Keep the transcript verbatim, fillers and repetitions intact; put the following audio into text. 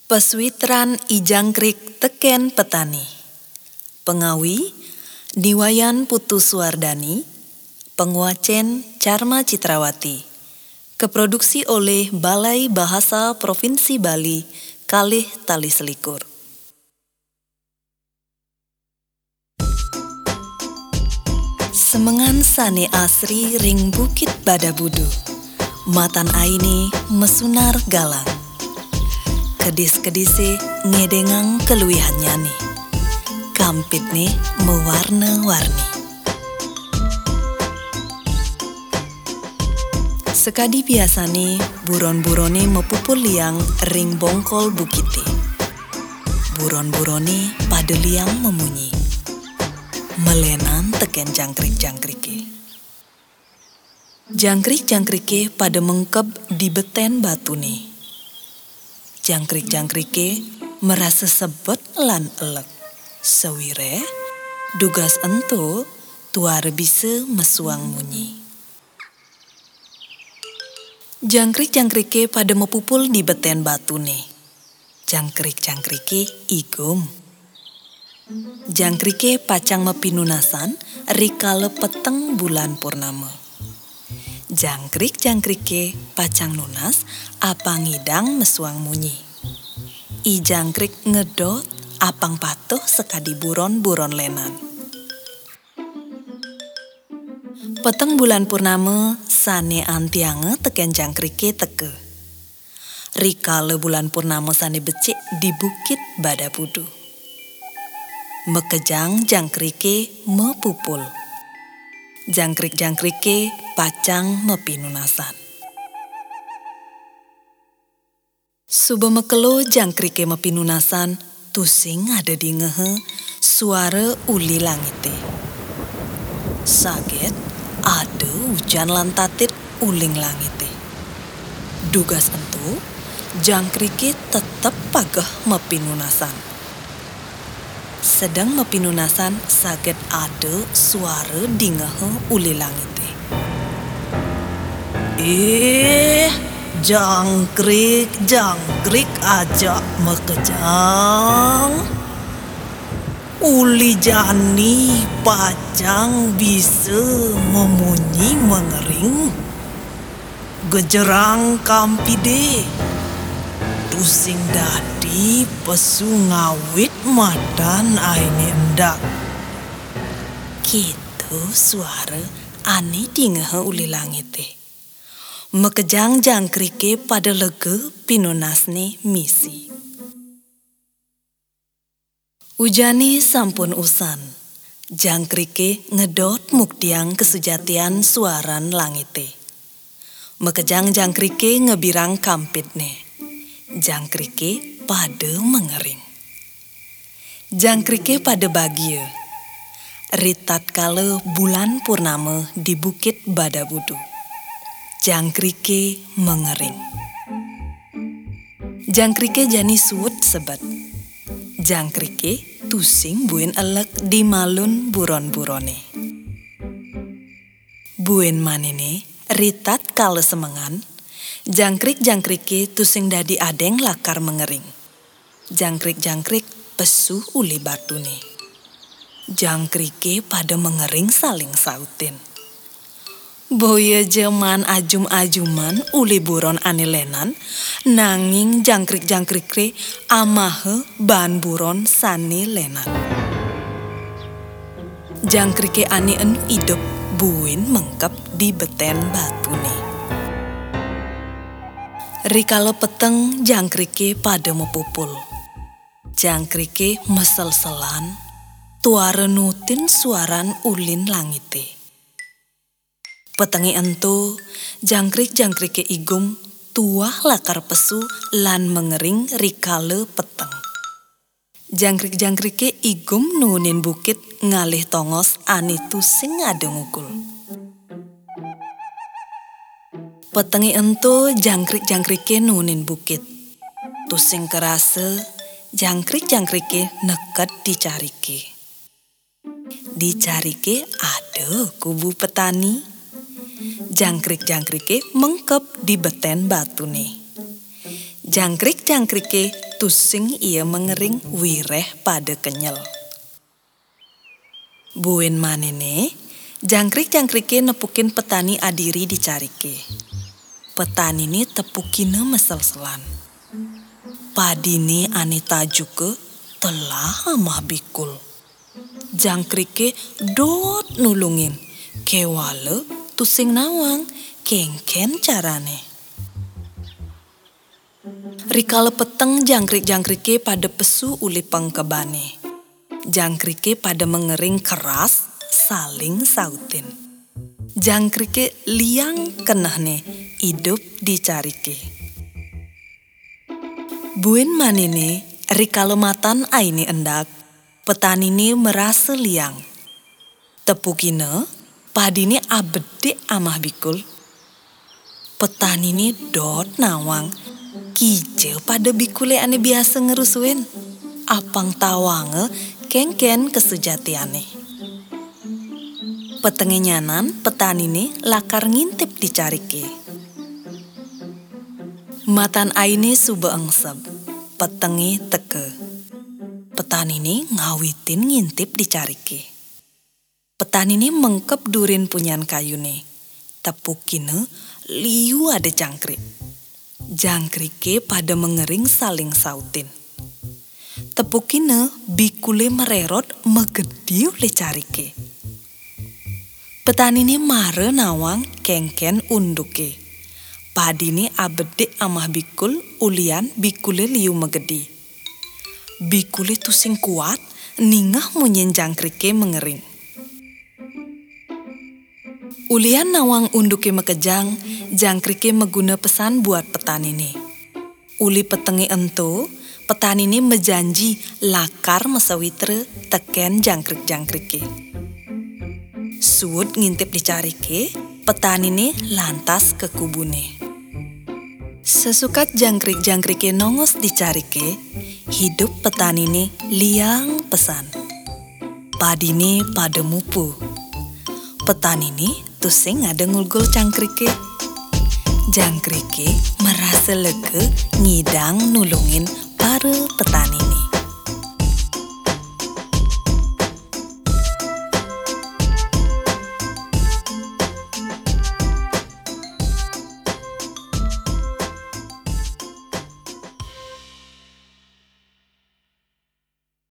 Pesuitran I jangkrik teken petani. Pengawi Niwayan Putu Suwardani. Penguacen Charma Citrawati. Keproduksi oleh Balai Bahasa Provinsi Bali, Kalih Tali Selikur. Semengan sane asri ring Bukit Badabudu. Matan aini mesunar galang. Kedis-kedise ngedengang keluihannya nih. Kampit nih mewarna-warni. Sekadi biasa nih buron-burone mepupul liang ring bongkol bukite. Buron-burone pada liang memunyi. Melenan teken jangkrik-jangkrike. Jangkrik-jangkrike pada mengkep di beten batu nih. Jangkrik-jangkrike merasa sebet lan elek. Sewire, dugas ento tuare bisa mesuang munyi. Jangkrik-jangkrike pada mepupul di beten batu nih. Jangkrik-jangkrike igum. Jangkrike pacang mepinunasan rikale peteng bulan purnama. Jangkrik-jangkrike pacang nunas apang ngidang mesuang munyi. I jangkrik ngedot apang patuh sekadi buron-buron lenan. Peteng bulan purnama sane antiange teken jangkrike teke. Rikale bulan purnama sane becik di Bukit Badabudu. Mekejang jangkrike mepupul. Jangkrik-jangkrike pacang mepinunasan. Suba mekelo jangkrike mepinunasan, tusing ada di ngehe suara uli langite. Saget ada hujan lantatit uling langite. Dugas entu jangkrike tetep pagah mepinunasan. Sedang mepinunasan saget ada suara di ngehe uli langite. Eh, jangkrik, jangkrik aja mekejang. Uli jani pacang bisa memunyi mengering. Gejerang kampide. Tusing dadi pesu ngawit madan aini endak. Gitu suara ani di ngehe uli langite. Mekejang jangkrike pada lege pinunasne misi. Ujane sampun usan. Jangkrike ngedot muktiang kesujatian suaran langite. Mekejang jangkrike ngebirang kampitne. Jangkrike pada mengering. Jangkrike pada bahagia. Ritat kala bulan purnama di Bukit Badabudu. Jangkrike mengering. Jangkrike jani suwut sebet. Jangkrike tusing buin elek di malun buron-burone. Buin manene ritat kala semengan. Jangkrik-jangkrike tusing dadi adeng lakar mengering. Jangkrik-jangkrik pesu uli batune. Jangkrike pada mengering saling sautin. Boya jaman ajum-ajuman uli buron anilenan, nanging jangkrik-jangkrike amahe ban buron sane lenan. Jangkrike ani enu idep buin mengkep di beten batune. Rikala peteng jangkrike pada mepupul. Jangkrike mesel-selan, tuare nutin suaran ulin langite. Petengi entu, jangkrik-jangkrike igum tuah lakar pesu lan mengering rikala peteng. Jangkrik-jangkrike igum nunin bukit ngalih tongos ani tusing ada ngukul. Petengi entu jangkrik-jangkrike nunin bukit. Tusing kerasa jangkrik-jangkrike neket dicarike. Dicarike ada kubu petani. Jangkrik-jangkrike mengkep di beten batu nih. Jangkrik-jangkrike tusing ia mengering wireh pada kenyel. Buen manene, jangkrik-jangkrike nepukin petani adiri dicarike. Petani ini tepukine mesel-selan. Padine ane tajuke telah amah bikul. Jangkrike dot nulungin, kewale tusing nawang, kengken carane. Rikala peteng jangkrik-jangkrike pada pesu uli pengkebane. Jangkrike pada mengering keras saling sautin. Jangkrike liang kenahne hidup dicarike. Buen manene rikala matan aini endak, petani ini merasa liang. Tepukine padine abede amah bikul. Petani ini dot nawang, kije pada bikule ane biasa ngerusuin. Apang tawange kengken kesejatiane. Petenge nyanan petani ini lakar ngintip dicarike. Matan aine sube engsep, petenge teke. Petani ini ngawitin ngintip dicarike. Petani ini mengkep durin punyan kayune. Tepukine liu ada jangkrik. Jangkrike pada mengering saling sautin. Tepukine bikule mererot megedi oleh carike. Petani ini mare nawang kengken unduke. Padine abede amah bikul ulian bikule liu megedi. Bikule tusing kuat ningah munyen jangkrike mengering. Ulian nawang unduke mekejang, jangkrike meguna pesan buat petani ini. Uli petenge ento, petani ini mejanji lakar mesawitre teken jangkrik-jangkrike. Suut ngintip dicarike, petani ini lantas ke kubune. Sesukat jangkrik-jangkrike nongos dicarike, hidup petani ini liang pesan. Padine pada mupu. Petani ini tusing ada ngulgul jangkrike. Jangkrike merasa lega ngidang nulungin para petani ini.